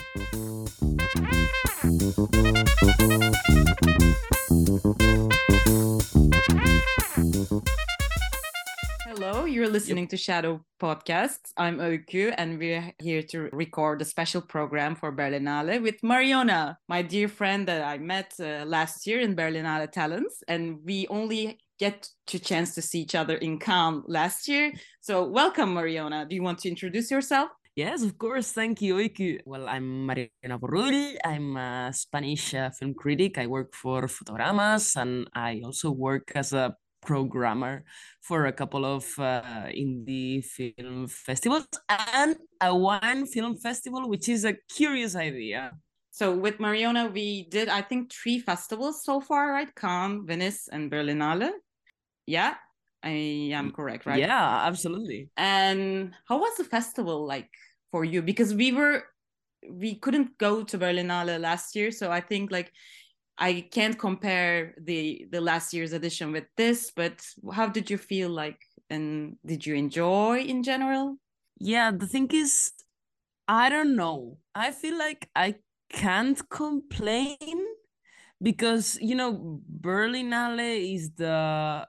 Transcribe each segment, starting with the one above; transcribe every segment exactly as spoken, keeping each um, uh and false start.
Hello, you're listening yep. to Shadow Podcasts. I'm Öykü, and we're here to record a special program for Berlinale with Mariona, my dear friend that I met uh, last year in Berlinale Talents, and we only get to chance to see each other in Cannes last year. So welcome, Mariona. Do you want to introduce yourself? Yes, of course. Thank you, Öykü. Well, I'm Mariona Borrull. I'm a Spanish uh, film critic. I work for Fotogramas, and I also work as a programmer for a couple of uh, indie film festivals and a wine film festival, which is a curious idea. So with Mariona, we did, I think, three festivals so far, right? Cannes, Venice, and Berlinale. Yeah, I am correct, right? Yeah, absolutely. And how was the festival like for you? Because we were, we couldn't go to Berlinale last year. So I think like, I can't compare the the last year's edition with this, but how did you feel like, and did you enjoy in general? Yeah, the thing is, I don't know. I feel like I can't complain because, you know, Berlinale is the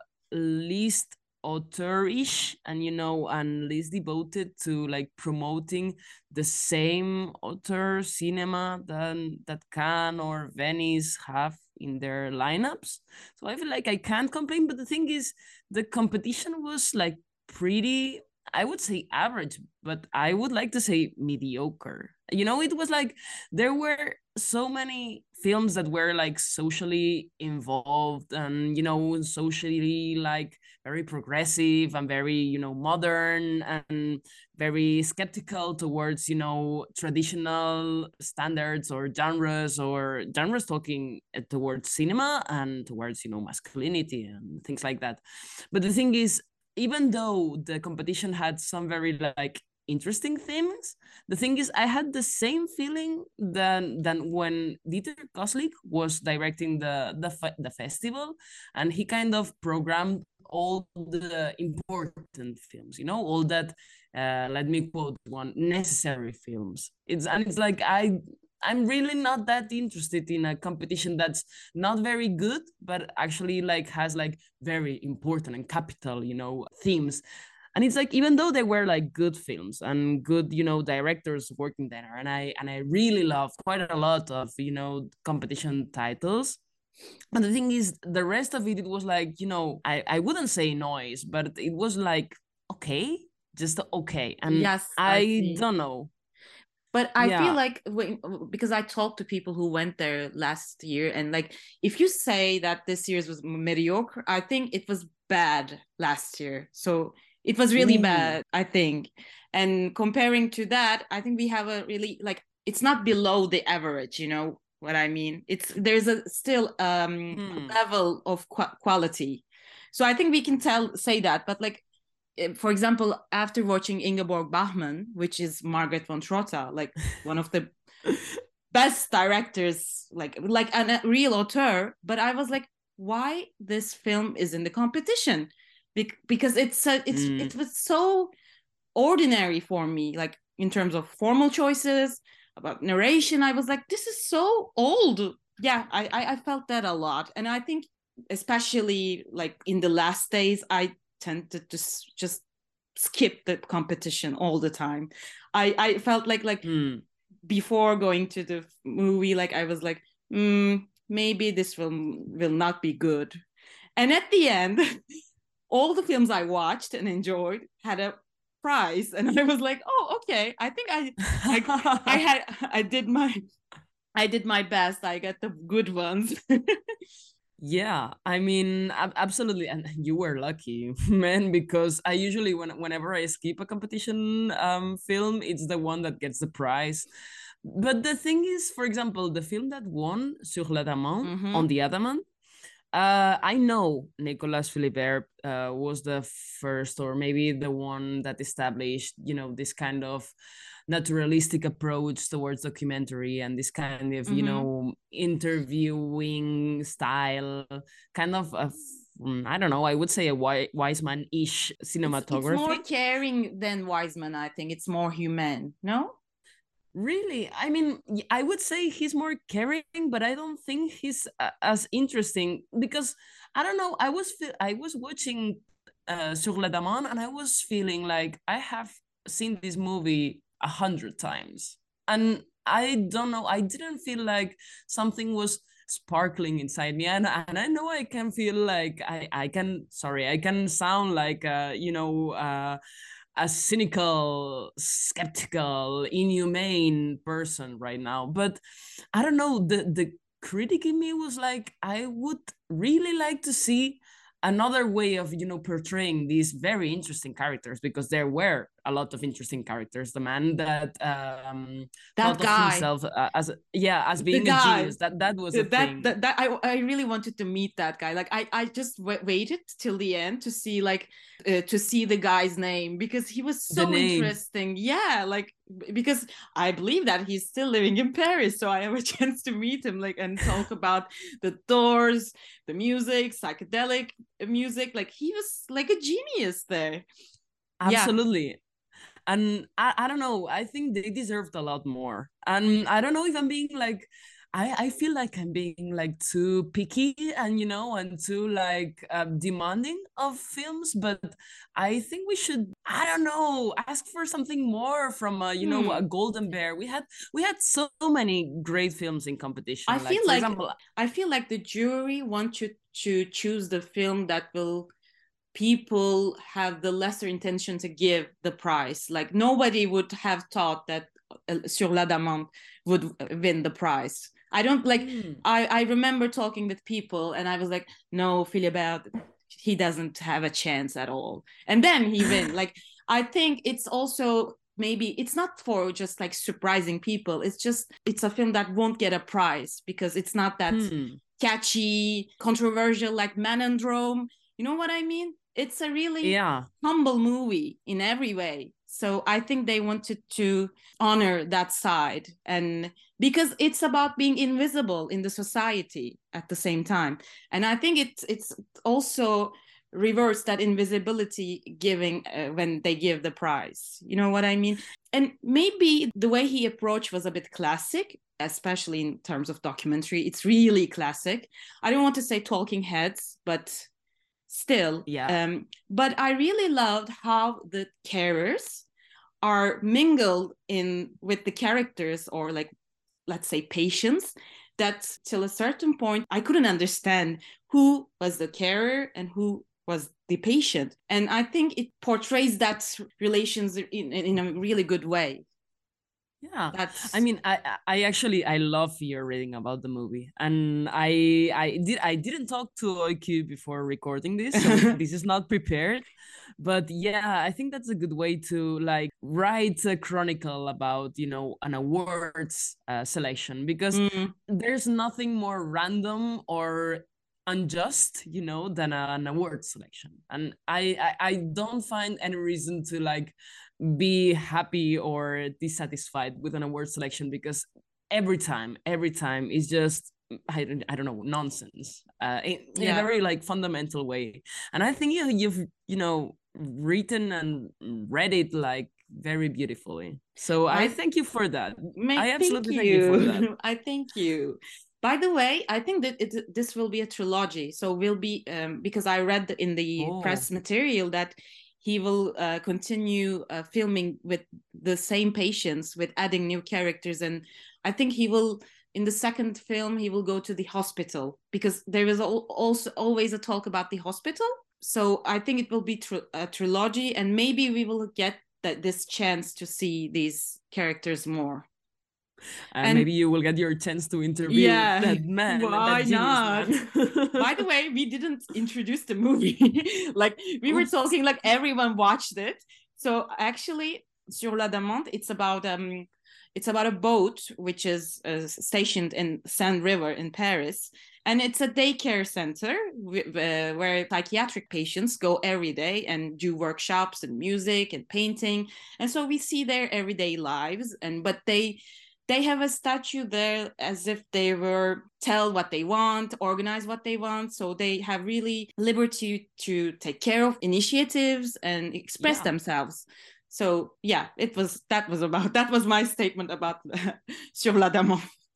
least author-ish and, you know, and least devoted to like promoting the same author cinema than that Cannes or Venice have in their lineups. So I feel like I can't complain, but the thing is the competition was like pretty, I would say average, but I would like to say mediocre. You know, it was like there were so many films that were like socially involved and, you know, socially like very progressive and very, you know, modern and very skeptical towards, you know, traditional standards or genres or genres talking towards cinema and towards, you know, masculinity and things like that. But the thing is, even though the competition had some very like interesting themes, the thing is I had the same feeling than than when Dieter Koslik was directing the the, the festival, and he kind of programmed all the important films, you know, all that uh, let me quote one, necessary films. It's and it's like I I'm really not that interested in a competition that's not very good, but actually like has like very important and capital, you know, themes. And it's like, even though they were like good films and good, you know, directors working there, and I and I really loved quite a lot of, you know, competition titles. But the thing is, the rest of it, it was like, you know, I, I wouldn't say noise, but it was like, okay, just okay. And yes, I, I don't know. But I yeah. feel like when, because I talked to people who went there last year, and like if you say that this year's was mediocre, I think it was bad last year. So it was really Ooh. bad, I think. And comparing to that, I think we have a really like it's not below the average, you know what I mean? It's there's a still um hmm. a level of qu- quality. So I think we can tell say that, but like for example, after watching Ingeborg Bachmann, which is Margaret von Trotta, like one of the best directors, like like a real auteur, but I was like, why this film is in the competition? Be- because it's uh, it's mm. it was so ordinary for me, like in terms of formal choices, about narration. I was like, this is so old. Yeah, I I, I felt that a lot, and I think especially like in the last days, I tend to just just skip the competition all the time. I I felt like like mm. before going to the movie, like I was like, mm, maybe this film will not be good. And at the end, all the films I watched and enjoyed had a prize, and I was like, oh, okay. I think I I, I had I did my I did my best. I got the good ones. Yeah, I mean, absolutely, and you were lucky, man, because I usually, when whenever I skip a competition um, film, it's the one that gets the prize. But the thing is, for example, the film that won, Sur l'Adamant, mm-hmm. on the Adamant, uh, I know Nicolas Philibert uh, was the first, or maybe the one that established, you know, this kind of naturalistic approach towards documentary and this kind of, mm-hmm. you know, interviewing style, kind of a, I don't know, I would say a Wiseman-ish cinematography. It's, it's more caring than Wiseman, I think. It's more human, no? Really? I mean, y- I would say he's more caring, but I don't think he's uh, as interesting because I don't know. I was fe- I was watching uh, Sur la Demande, and I was feeling like I have seen this movie a hundred times, and I don't know. I didn't feel like something was sparkling inside me, and and I know I can feel like I I can sorry I can sound like uh you know uh a cynical, skeptical, inhumane person right now. But I don't know. The the critic in me was like, I would really like to see another way of you know portraying these very interesting characters, because there were a lot of interesting characters. The man that um That thought of guy, himself uh, as a, yeah, as the being a guy genius, that that was a that thing. that, that I, I really wanted to meet that guy. Like i i just w- waited till the end to see like uh, to see the guy's name, because he was The so name. interesting. Yeah, like because I believe that he's still living in Paris, so I have a chance to meet him, like, and talk about the Doors, the music, psychedelic music. Like he was like a genius there. Yeah, Absolutely. And I, I don't know, I think they deserved a lot more. And I don't know if I'm being like, I, I feel like I'm being like too picky and you know and too like uh, demanding of films, but I think we should, I don't know, ask for something more from a you know a hmm. Golden Bear. We had we had so many great films in I competition, like feel for like example. I feel like the jury want you to choose the film that will people have the lesser intention to give the prize. Like nobody would have thought that uh, Sur la Demande would win the prize. I don't like. Hmm, I I remember talking with people, and I was like, no, Philibert, he doesn't have a chance at all. And then he win. Like I think it's also maybe it's not for just like surprising people. It's just it's a film that won't get a prize because it's not that hmm. catchy, controversial like Manandrome. You know what I mean? It's a really Yeah. humble movie in every way. So I think they wanted to honor that side, and because it's about being invisible in the society at the same time. And I think it's it's also reverse that invisibility giving uh, when they give the prize. You know what I mean? And maybe the way he approached was a bit classic, especially in terms of documentary. It's really classic. I don't want to say talking heads, but still. Yeah. Um, but I really loved how the carers are mingled in with the characters, or like let's say patients, that till a certain point I couldn't understand who was the carer and who was the patient. And I think it portrays that relations in, in a really good way. Yeah, I That's mean, I I actually I love your reading about the movie, and I I did I didn't talk to O Q before recording this, so this is not prepared, but yeah, I think that's a good way to like write a chronicle about you know an awards uh, selection, because mm, there's nothing more random or unjust you know than a, an award selection, and I, I I don't find any reason to like be happy or dissatisfied with an award selection, because every time every time is just I don't, I don't know, nonsense uh, in, in a yeah. very like fundamental way. And I think you, you've you know written and read it like very beautifully, so I I thank you for that. I may thank absolutely thank you for that. you. I thank you. By the way, I think that it, this will be a trilogy. So will be um, because I read in the Oh, press material that he will uh, continue uh, filming with the same patients, with adding new characters, and I think he will. In the second film, he will go to the hospital, because there is also always a talk about the hospital. So I think it will be tr- a trilogy, and maybe we will get that this chance to see these characters more. and And maybe you will get your chance to interview yeah, that man, why that genius not? man. By the way, we didn't introduce the movie. Like we were Oops. talking, like everyone watched it. So actually, Sur la Demande, it's about um, it's about a boat which is uh, stationed in Seine River in Paris, and it's a daycare center uh, where psychiatric patients go every day and do workshops and music and painting, and so we see their everyday lives. And but they they have a statue there as if they were tell what they want, organize what they want. So they have really liberty to take care of initiatives and express Yeah. themselves. So yeah, it was that was about that was my statement about Sur la Dame.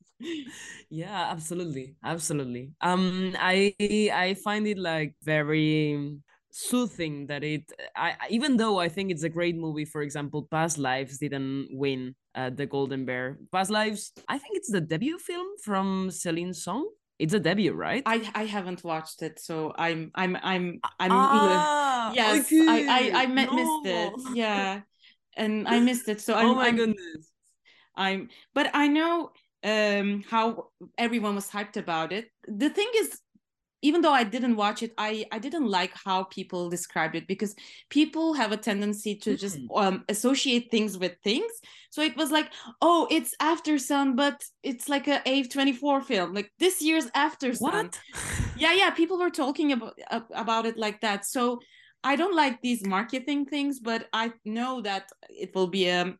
Yeah, absolutely, absolutely. Um, I I find it like very soothing that it. I even though I think it's a great movie. For example, Past Lives didn't win uh, the Golden Bear. Past Lives, I think it's the debut film from Celine Song. It's a debut, right? I I haven't watched it, so I'm I'm I'm I'm Ah, yes, I I okay. I met, missed it. No. Yeah, and I missed it. So Oh I'm my I'm goodness. I'm but I know um how everyone was hyped about it. The thing is, even though I didn't watch it, I, I didn't like how people described it, because people have a tendency to just Mm. um, associate things with things. So it was like, oh, it's After Sun, but it's like a A twenty-four film, like this year's After Sun. What? Yeah, yeah, people were talking about about it like that. So I don't like these marketing things, but I know that it will be a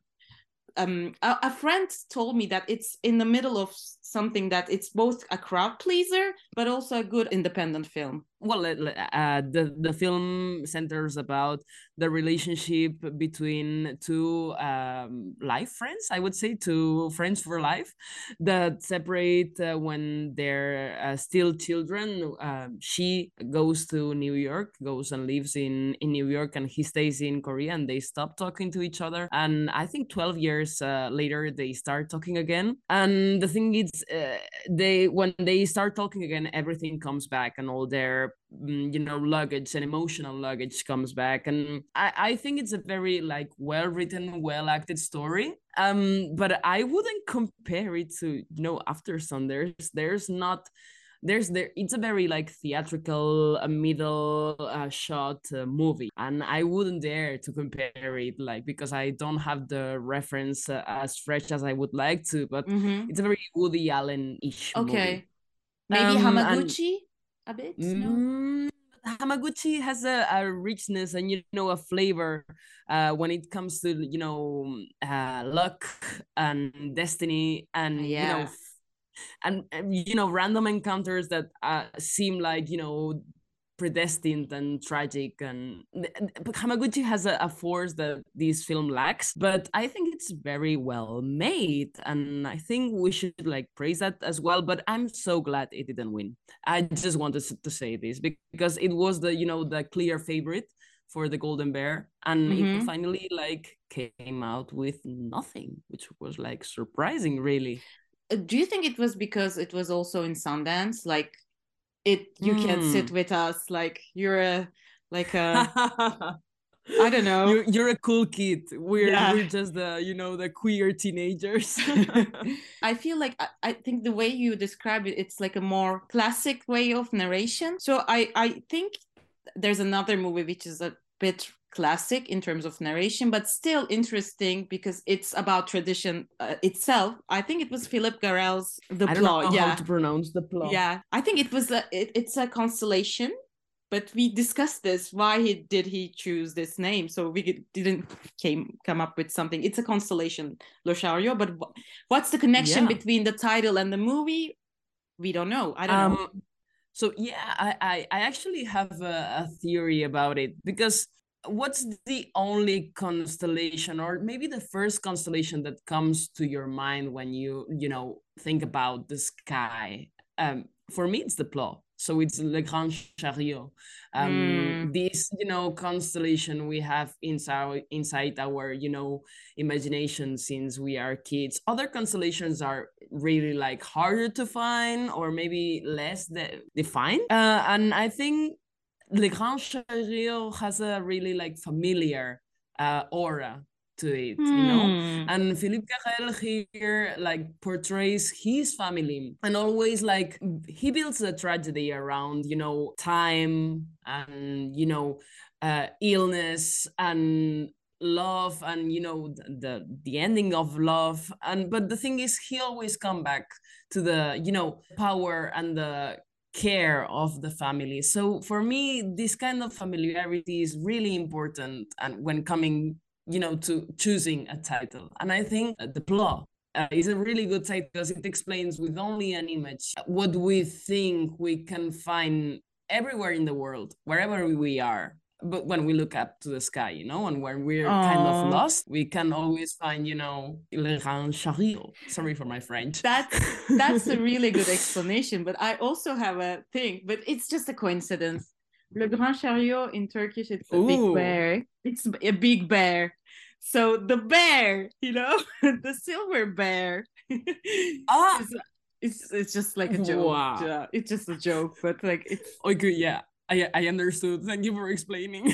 um a, a friend told me that it's in the middle of something, that it's both a crowd pleaser but also a good independent film. Well, uh, the the film centers about the relationship between two um, life friends. I would say two friends for life that separate uh, when they're uh, still children. Uh, she goes to New York, goes and lives in in New York, and he stays in Korea, and they stop talking to each other. And I think twelve years uh, later, they start talking again. And the thing is, uh, they when they start talking again, everything comes back, and all their you know luggage and emotional luggage comes back. And i i think it's a very like well written, well acted story. Um but I wouldn't compare it to, you know After Sun. There's there's not there's there it's a very like theatrical uh, middle uh, shot uh, movie, and I wouldn't dare to compare it, like, because I don't have the reference uh, as fresh as I would like to. But Mm-hmm. it's a very Woody Allen-ish movie. Okay, maybe um and Hamaguchi a bit. No. Mm, Hamaguchi has a, a richness and, you know a flavor uh, when it comes to, you know uh, luck and destiny, Uh, and, you know yeah. f- and, and you know random encounters that uh, seem like, you know predestined and tragic. And but Hamaguchi has a, a force that this film lacks, but I think it's very well made, and I think we should like praise that as well. But I'm so glad it didn't win. I just wanted to say this because it was the you know the clear favorite for the Golden Bear, and it Mm-hmm. finally like came out with nothing, which was like surprising, really. Uh, do you think it was because it was also in Sundance? Like, it, you can sit Mm. with us, like you're a like a I don't know. you're you're a cool kid. We're Yeah. we're just the you know the queer teenagers. I feel like I, I think the way you describe it, it's like a more classic way of narration. So I I think there's another movie which is a bit classic in terms of narration, but still interesting because it's about tradition uh, itself. I think it was Philip Garrel's The I don't know Plot. how Yeah, to pronounce the plot. yeah. I think it was a it, it's a constellation, but we discussed this. Why he did he choose this name? So we didn't came come up with something. It's a constellation, Lothario. But what's the connection Yeah. between the title and the movie? We don't know. I don't know. Um. So yeah, I I, I actually have a, a theory about it, because what's the only constellation, or maybe the first constellation, that comes to your mind when you you know think about the sky? Um, for me, it's the Plot. So it's Le Grand Chariot. Um, Mm. this you know constellation we have inside inside our you know imagination since we are kids. Other constellations are really like harder to find, or maybe less de- defined. Uh, and I think Le Grand Chariot has a really like familiar uh, aura to it, you know. Hmm. And Philippe Carrel here like portrays his family, and always like he builds a tragedy around, you know, time and you know, uh, illness and love, and you know the the ending of love. And but the thing is, he always come back to the you know power and the care of the family. So for me, this kind of familiarity is really important, and when coming you know to choosing a title. And I think The Plot uh, is a really good title because it explains with only an image what we think we can find everywhere in the world, wherever we are. but when we look up to the sky, you know, and when we're Oh. kind of lost, we can always find, you know, Le Grand Chariot. Sorry for my French. That's that's a really good explanation. But I also have a thing, but it's just a coincidence. Le Grand Chariot in Turkish, it's a Ooh. big bear. It's a big bear. So the bear, you know, the silver bear. Ah. it's, it's it's just like a joke. Wow. Yeah, it's just a joke, but like it's okay. Yeah, I I understood. Thank you for explaining.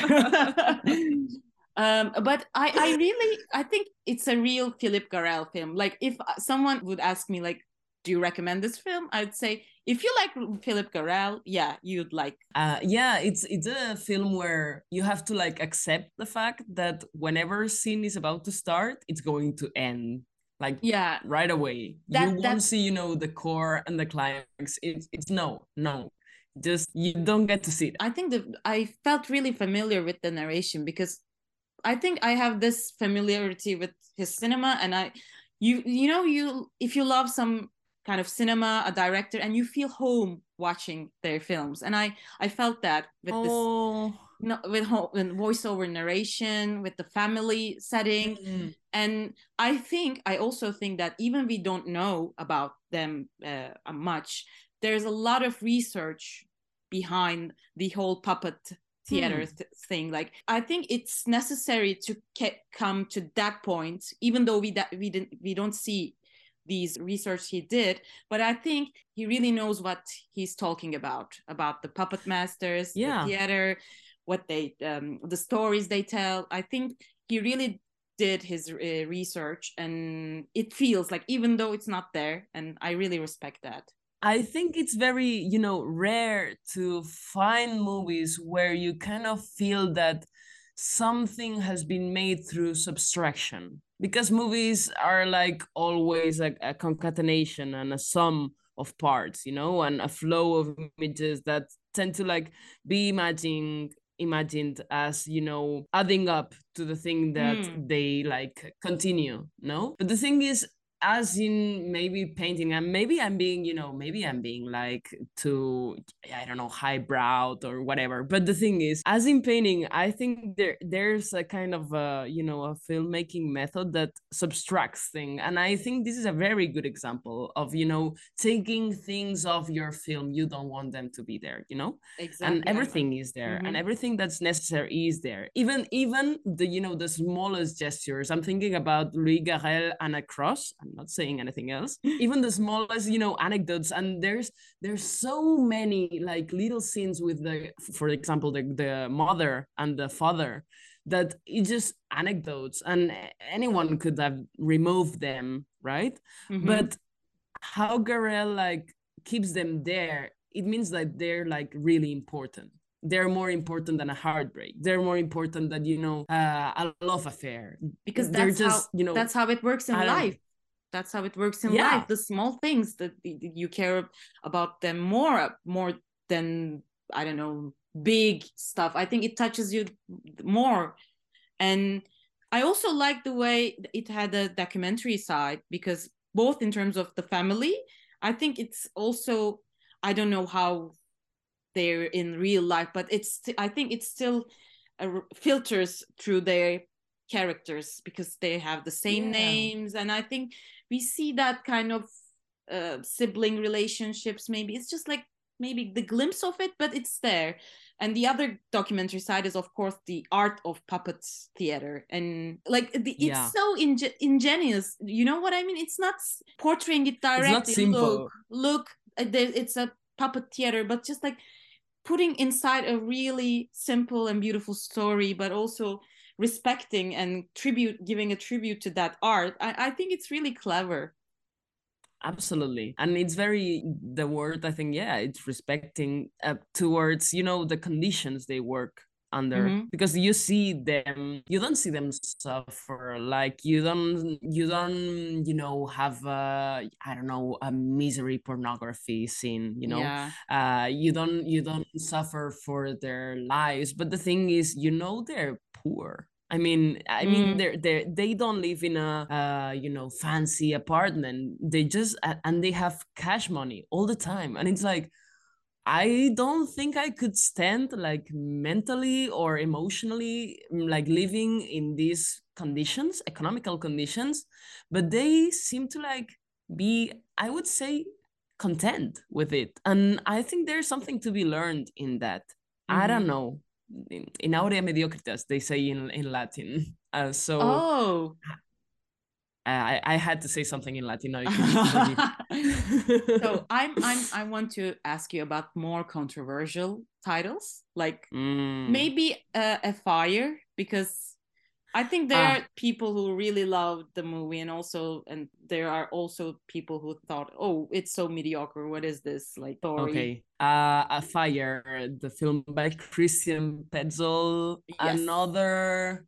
um, but I I really I think it's a real Philippe Garrel film. Like if someone would ask me like, do you recommend this film? I'd say if you like Philippe Garrel, yeah, you'd like. Uh, yeah, it's it's a film where you have to like accept the fact that whenever scene is about to start, it's going to end. Like yeah, right away. That, you won't see, you know, the core and the climax. It's it's no, no. Just you don't get to see it. I think that I felt really familiar with the narration because I think I have this familiarity with his cinema, and I you you know you if you love some kind of cinema, a director, and you feel home watching their films, and I I felt that with oh. this no, with, with voiceover narration, with the family setting. Mm-hmm. And I think, I also think that even we don't know about them uh, much, there's a lot of research behind the whole puppet theater hmm. th- thing. Like, I think it's necessary to ke- come to that point, even though we, da- we, didn't, we don't see these research he did, but I think he really knows what he's talking about, about the puppet masters, yeah. the theater, what they um the stories they tell. I think he really did his uh, research, and it feels like, even though it's not there, and I really respect that. I think it's very, you know, rare to find movies where you kind of feel that something has been made through subtraction, because movies are like always like a concatenation and a sum of parts, you know, and a flow of images that tend to like be imagined imagined as, you know, adding up to the thing that mm. they like continue, no? But the thing is, as in maybe painting, and maybe I'm being, you know, maybe I'm being like too, I don't know, highbrow or whatever. But the thing is, as in painting, I think there there's a kind of a, you know, a filmmaking method that subtracts things. And I think this is a very good example of, you know, taking things off your film. You don't want them to be there, you know? Exactly. And everything is there, mm-hmm. and everything that's necessary is there. Even, even the, you know, the smallest gestures. I'm thinking about Louis Garrel and A Cross. I'm not saying anything else. Even the smallest, you know, anecdotes, and there's there's so many like little scenes with the, for example, the the mother and the father, that it's just anecdotes, and anyone could have removed them, right? Mm-hmm. But how Garrel like keeps them there, it means that they're like really important. They're more important than a heartbreak. They're more important than, you know, uh, a love affair. Because that's they're just, how, you know, that's how it works in life. That's how it works in yeah. life. The small things that you care about them more, more than, I don't know, big stuff. I think it touches you more. And I also like the way it had a documentary side, because both in terms of the family, I think it's also, I don't know how they're in real life, but it's, I think it still uh, filters through their characters, because they have the same yeah. names. And I think we see that kind of uh, sibling relationships. Maybe it's just like maybe the glimpse of it, but it's there. And the other documentary side is, of course, the art of puppet theater, and like the, it's yeah. so inge- ingenious. You know what I mean? It's not portraying it directly. It's not simple. Look, look, it's a puppet theater, but just like putting inside a really simple and beautiful story, but also respecting and tribute, giving a tribute to that art. I, I think it's really clever. Absolutely. And it's very, the word, I think, yeah, it's respecting uh, towards, you know, the conditions they work under, mm-hmm. because you see them, you don't see them suffer. Like you don't, you don't, you know, have a, I don't know, a misery pornography scene, you know, yeah. uh, you don't, you don't suffer for their lives. But the thing is, you know, they're poor. I mean, I mean, mm. they're they they don't live in a uh, you know, fancy apartment. They just, and they have cash money all the time, and it's like, I don't think I could stand like mentally or emotionally like living in these conditions, economical conditions, but they seem to like be, I would say, content with it. And I think there's something to be learned in that. I don't Mm-hmm. know. In, in aurea mediocritas, they say in, in Latin. Uh, so Oh. I, I had to say something in Latin. Now you can forgive So I'm I'm I want to ask you about more controversial titles, like mm. maybe uh, a fire, because I think there Ah, are people who really loved the movie, and also and there are also people who thought, oh, it's so mediocre. What is this like story? okay. Uh, A Fire, the film by Christian Petzold. Yes. Another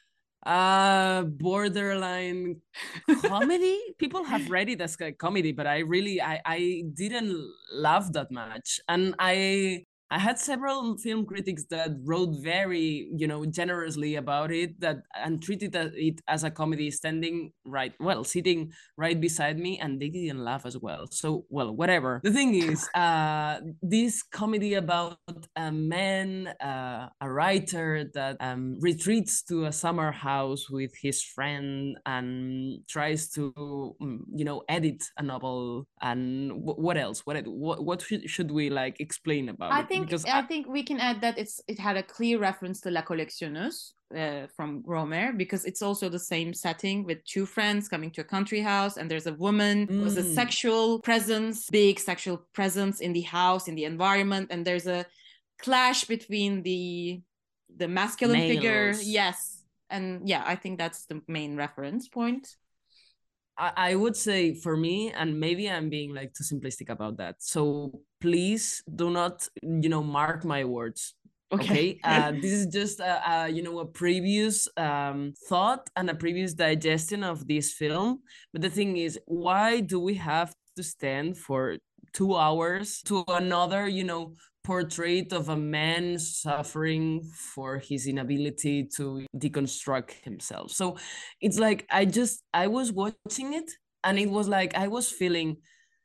uh borderline comedy. People have read it as a comedy, but I really I I didn't love that much. And I I had several film critics that wrote very, you know, generously about it, that and treated it as a comedy, standing right, well, sitting right beside me, and they didn't laugh as well. So, well, whatever. The thing is, uh, this comedy about a man, uh, a writer that um, retreats to a summer house with his friend and tries to, mm, you know, edit a novel. And w- what else? What what what should, should we like explain about I it? think Because I I, think we can add that it's it had a clear reference to La Collectionneuse uh, from Romer, because it's also the same setting with two friends coming to a country house, and there's a woman who has a mm, sexual presence, big sexual presence in the house, in the environment, and there's a clash between the the masculine figure, males. yes, and yeah, I think that's the main reference point. I, I would say for me, and maybe I'm being like too simplistic about that. So please do not, you know, mark my words. Okay. Okay, uh, this is just a, a you know a previous um, thought and a previous digestion of this film. But the thing is, why do we have to stand for two hours to another, you know, portrait of a man suffering for his inability to deconstruct himself? So it's like I just I was watching it, and it was like I was feeling,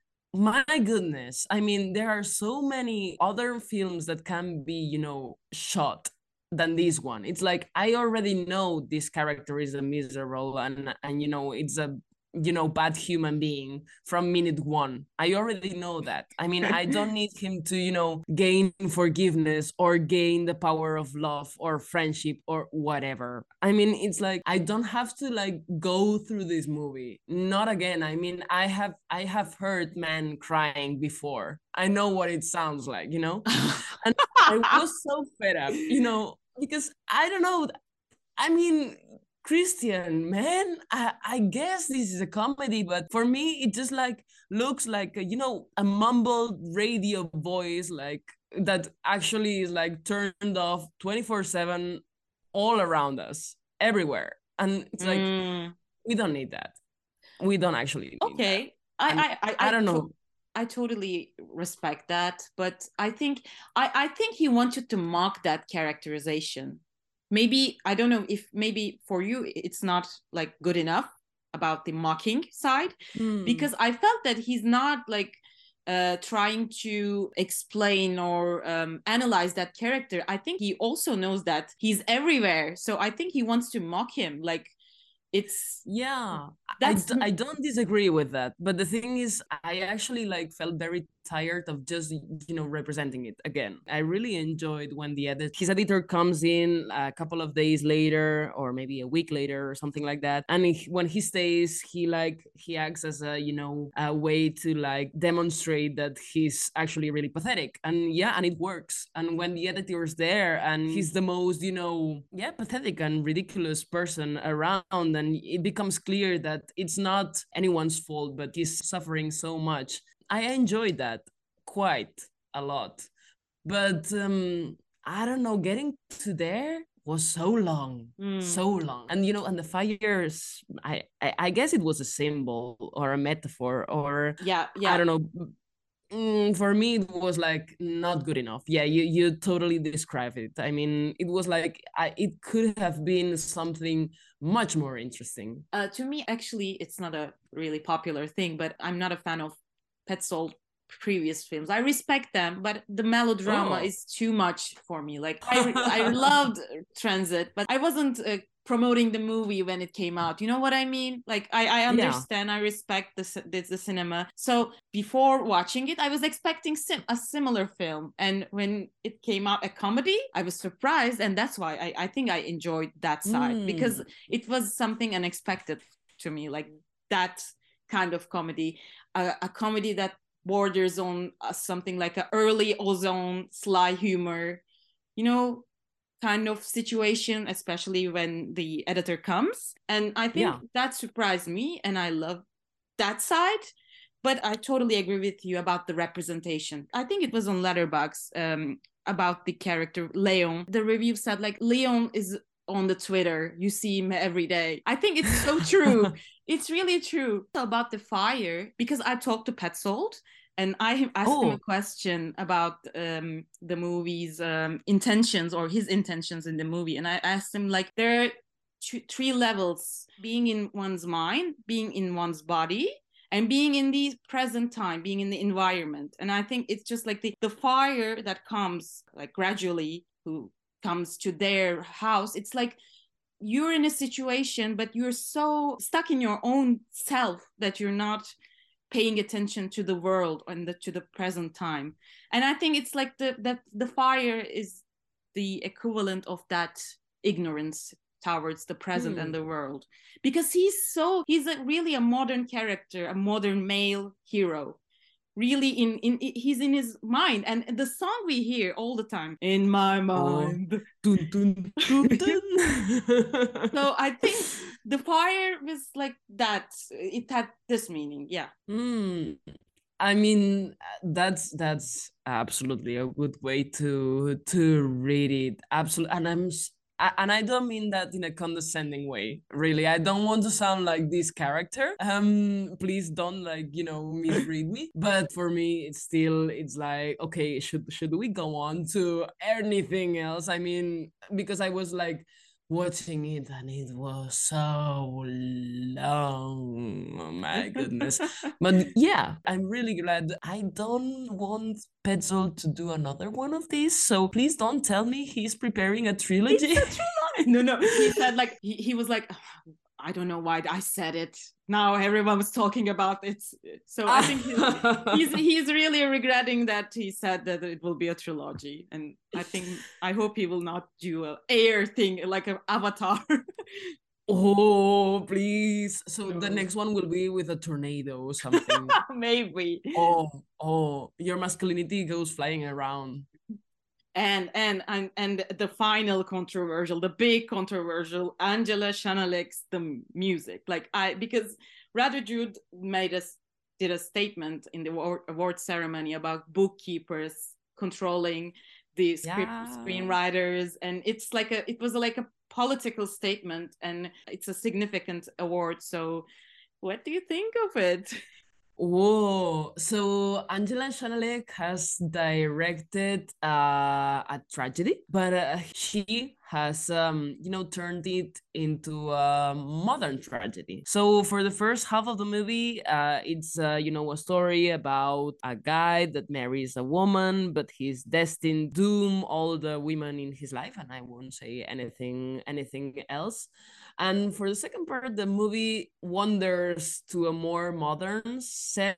my goodness. I mean, there are so many other films that can be, you know, shot than this one. It's like I already know this character is a miserable and and you know, it's a, you know, bad human being from minute one. I already know that. I mean, I don't need him to, you know, gain forgiveness or gain the power of love or friendship or whatever. I mean, it's like I don't have to like go through this movie. Not again. I mean, I have I have heard men crying before. I know what it sounds like, you know? And I was so fed up, you know, because I don't know. I mean, Christian, man, I, I guess this is a comedy, but for me, it just like looks like, a, you know, a mumbled radio voice, like that actually is like turned off twenty-four seven all around us, everywhere. And it's like, Mm. we don't need that. We don't actually need that. Okay. I And I I I I, don't to- know. I totally respect that, but I think I I think he wanted to mock that characterization. Maybe I don't know if maybe for you it's not like good enough about the mocking side, Hmm. because I felt that he's not like uh trying to explain or um, analyze that character. I think he also knows that he's everywhere, so I think he wants to mock him. Like it's Yeah, I, that's d- I don't disagree with that. But the thing is, I actually like felt very tired of just, you know, representing it again. I really enjoyed when the edit, his editor comes in a couple of days later, or maybe a week later, or something like that. And he, when he stays, he like, he acts as a, you know, a way to like demonstrate that he's actually really pathetic. And yeah, and it works. And when the editor's there and he's the most, you know, yeah, pathetic and ridiculous person around, and it becomes clear that it's not anyone's fault, but he's suffering so much. I enjoyed that quite a lot. But um, I don't know, getting to there was so long, mm, so long. And you know, and the fires, I, I I guess it was a symbol or a metaphor, or yeah, I yeah. don't know. Mm, for me, it was like not good enough. Yeah, you you totally describe it. I mean, it was like I, it could have been something much more interesting. Uh, to me, actually, it's not a really popular thing, but I'm not a fan of Petzold previous films. I respect them, but the melodrama Oh. is too much for me. Like I I loved Transit, but I wasn't uh, promoting the movie when it came out. You know what I mean? Like I, I understand, yeah. I respect the, the the cinema. So before watching it, I was expecting sim- a similar film, and when it came out a comedy, I was surprised, and that's why I, I think I enjoyed that side mm. because it was something unexpected to me, like that kind of comedy, a, a comedy that borders on uh, something like an early Ozone sly humor, you know, kind of situation, especially when the editor comes. And I think yeah. that surprised me, and I love that side. But I totally agree with you about the representation. I think it was on Letterboxd um, about the character Leon. The review said like Leon is on the Twitter. You see him every day. I think it's so true. It's really true. About the fire, because I talked to Petzold, and I asked oh. him a question about um, the movie's um, intentions, or his intentions in the movie. And I asked him, like, there are two, three levels: being in one's mind, being in one's body, and being in the present time, being in the environment. And I think it's just like the, the fire that comes, like, gradually, who comes to their house. It's like you're in a situation, but you're so stuck in your own self that you're not paying attention to the world and the, to the present time. And I think it's like the that the fire is the equivalent of that ignorance towards the present hmm. and the world, because he's so he's a, really a modern character, a modern male hero, really in in he's in his mind. And the song we hear all the time, in my mind, oh. dun, dun, dun, dun. So I think the fire was like that, it had this meaning. Yeah. mm. I mean, that's that's absolutely a good way to to read it. Absolutely. And I'm and I don't mean that in a condescending way, really. I don't want to sound like this character. Um, please don't, like, you know, misread me. But for me, it's still, it's like, okay, should should we go on to anything else? I mean, because I was like watching it and it was so long. Oh my goodness. But yeah, I'm really glad. I don't want Petzold to do another one of these, so please don't tell me he's preparing a trilogy. It's a trilogy. No, no. He said like he, he was like, oh, I don't know why I said it. Now everyone was talking about it. So I think he's, he's he's really regretting that he said that it will be a trilogy. And I think I hope he will not do a air thing like an Avatar. Oh, please. So no. The next one will be with a tornado or something. Maybe. Oh, oh, your masculinity goes flying around. And, and and and the final controversial, the big controversial, Angela Schanalik's the music. Like I, because Rather Jude made us did a statement in the award, award ceremony about bookkeepers controlling the script yeah. screenwriters, and it's like a it was like a political statement, and it's a significant award. So, what do you think of it? Whoa! So Angela Schanalik has directed uh, a tragedy, but uh, she has, um, you know, turned it into a modern tragedy. So for the first half of the movie, uh, it's, uh, you know, a story about a guy that marries a woman, but he's destined to doom all the women in his life, and I won't say anything, anything else. And for the second part, the movie wanders to a more modern set.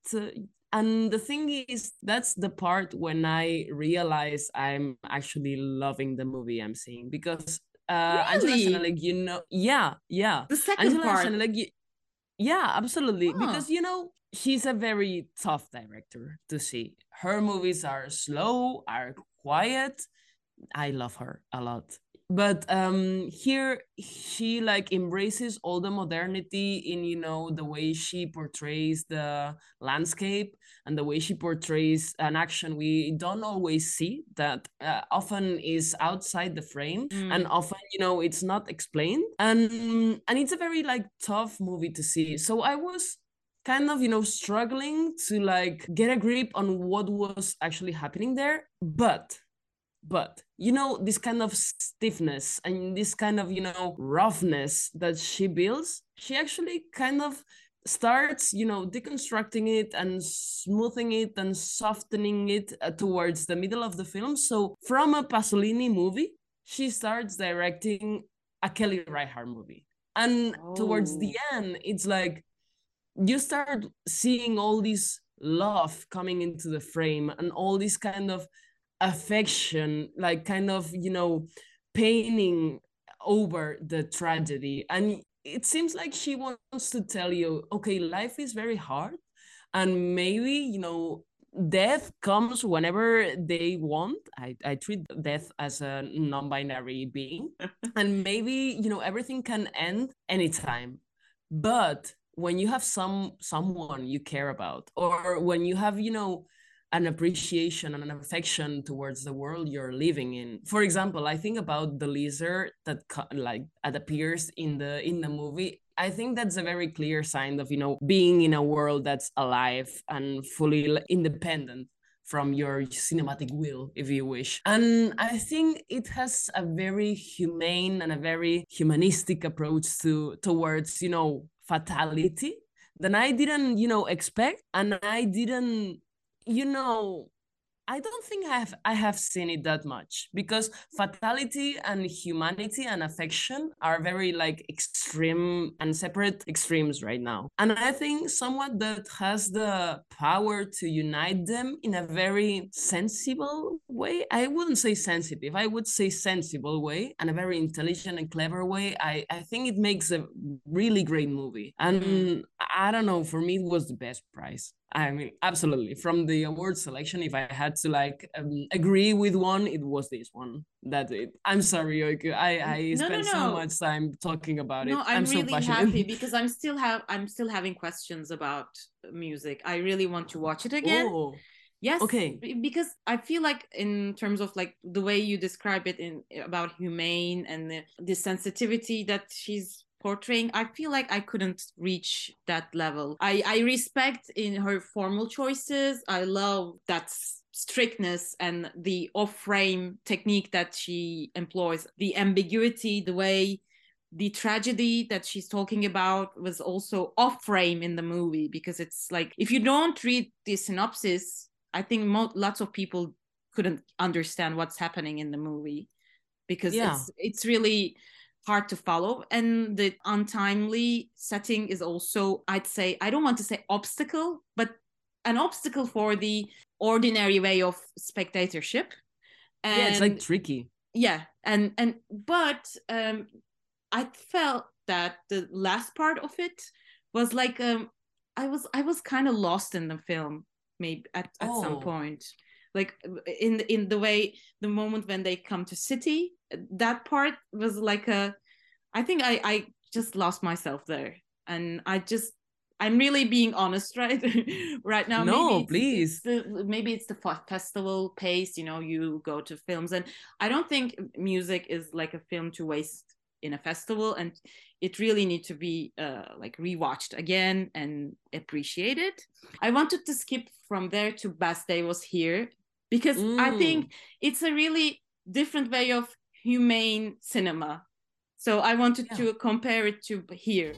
And the thing is, that's the part when I realize I'm actually loving the movie I'm seeing. Because uh, really? Angela Schanalik, you know, yeah, yeah. The second Angela part. Schanalik, yeah, absolutely. Huh. Because, you know, she's a very tough director to see. Her movies are slow, are quiet. I love her a lot. But um here she like embraces all the modernity in, you know, the way she portrays the landscape and the way she portrays an action we don't always see, that uh, often is outside the frame mm. and often, you know, it's not explained, and and it's a very like tough movie to see. So I was kind of, you know, struggling to like get a grip on what was actually happening there. But But, you know, this kind of stiffness and this kind of, you know, roughness that she builds, she actually kind of starts, you know, deconstructing it and smoothing it and softening it uh, towards the middle of the film. So from a Pasolini movie, she starts directing a Kelly Reichardt movie. And oh. towards the end, it's like you start seeing all this love coming into the frame and all this kind of affection, like kind of, you know, painting over the tragedy. And it seems like she wants to tell you, okay, life is very hard, and maybe, you know, death comes whenever they want. I, I treat death as a non-binary being. And maybe, you know, everything can end anytime. But when you have some someone you care about, or when you have, you know, an appreciation and an affection towards the world you're living in. For example, I think about the lizard that like that appears in the in the movie. I think that's a very clear sign of, you know, being in a world that's alive and fully independent from your cinematic will, if you wish. And I think it has a very humane and a very humanistic approach to towards, you know, fatality that I didn't, you know, expect, and I didn't, you know, I don't think I have I have seen it that much, because fatality and humanity and affection are very like extreme and separate extremes right now. And I think someone that has the power to unite them in a very sensible way, I wouldn't say sensitive, I would say sensible way, and a very intelligent and clever way, I, I think it makes a really great movie. And mm. I don't know, for me it was the best prize. I mean, absolutely. From the award selection, if I had to like um, agree with one, it was this one. That's it. I'm sorry, Yoiku. I I no, spent no, no. so much time talking about no, it. I'm, I'm really so passionate. happy because I'm still have I'm still having questions about music. I really want to watch it again. Oh. Yes. Okay. Because I feel like in terms of like the way you describe it in about humane and the, the sensitivity that she's portraying, I feel like I couldn't reach that level. I, I respect in her formal choices. I love that strictness and the off-frame technique that she employs, the ambiguity, the way the tragedy that she's talking about was also off-frame in the movie, because it's like, if you don't read the synopsis, I think mo- lots of people couldn't understand what's happening in the movie, because yeah. it's it's really hard to follow. And the untimely setting is also, I'd say, I don't want to say obstacle, but an obstacle for the ordinary way of spectatorship. And yeah, it's like tricky. Yeah. And, and, but um, I felt that the last part of it was like, um, I was, I was kind of lost in the film, maybe at, at oh. some point. Like in in the way, the moment when they come to city, that part was like a, I think I, I just lost myself there. And I just, I'm really being honest right right now. No, maybe it's, please. It's the, maybe it's the festival pace, you know, you go to films. And I don't think music is like a film to waste in a festival. And it really needs to be uh, like rewatched again and appreciated. I wanted to skip from there to Best Day Was Here, because mm. I think it's a really different way of humane cinema. So I wanted yeah. to compare it to Here.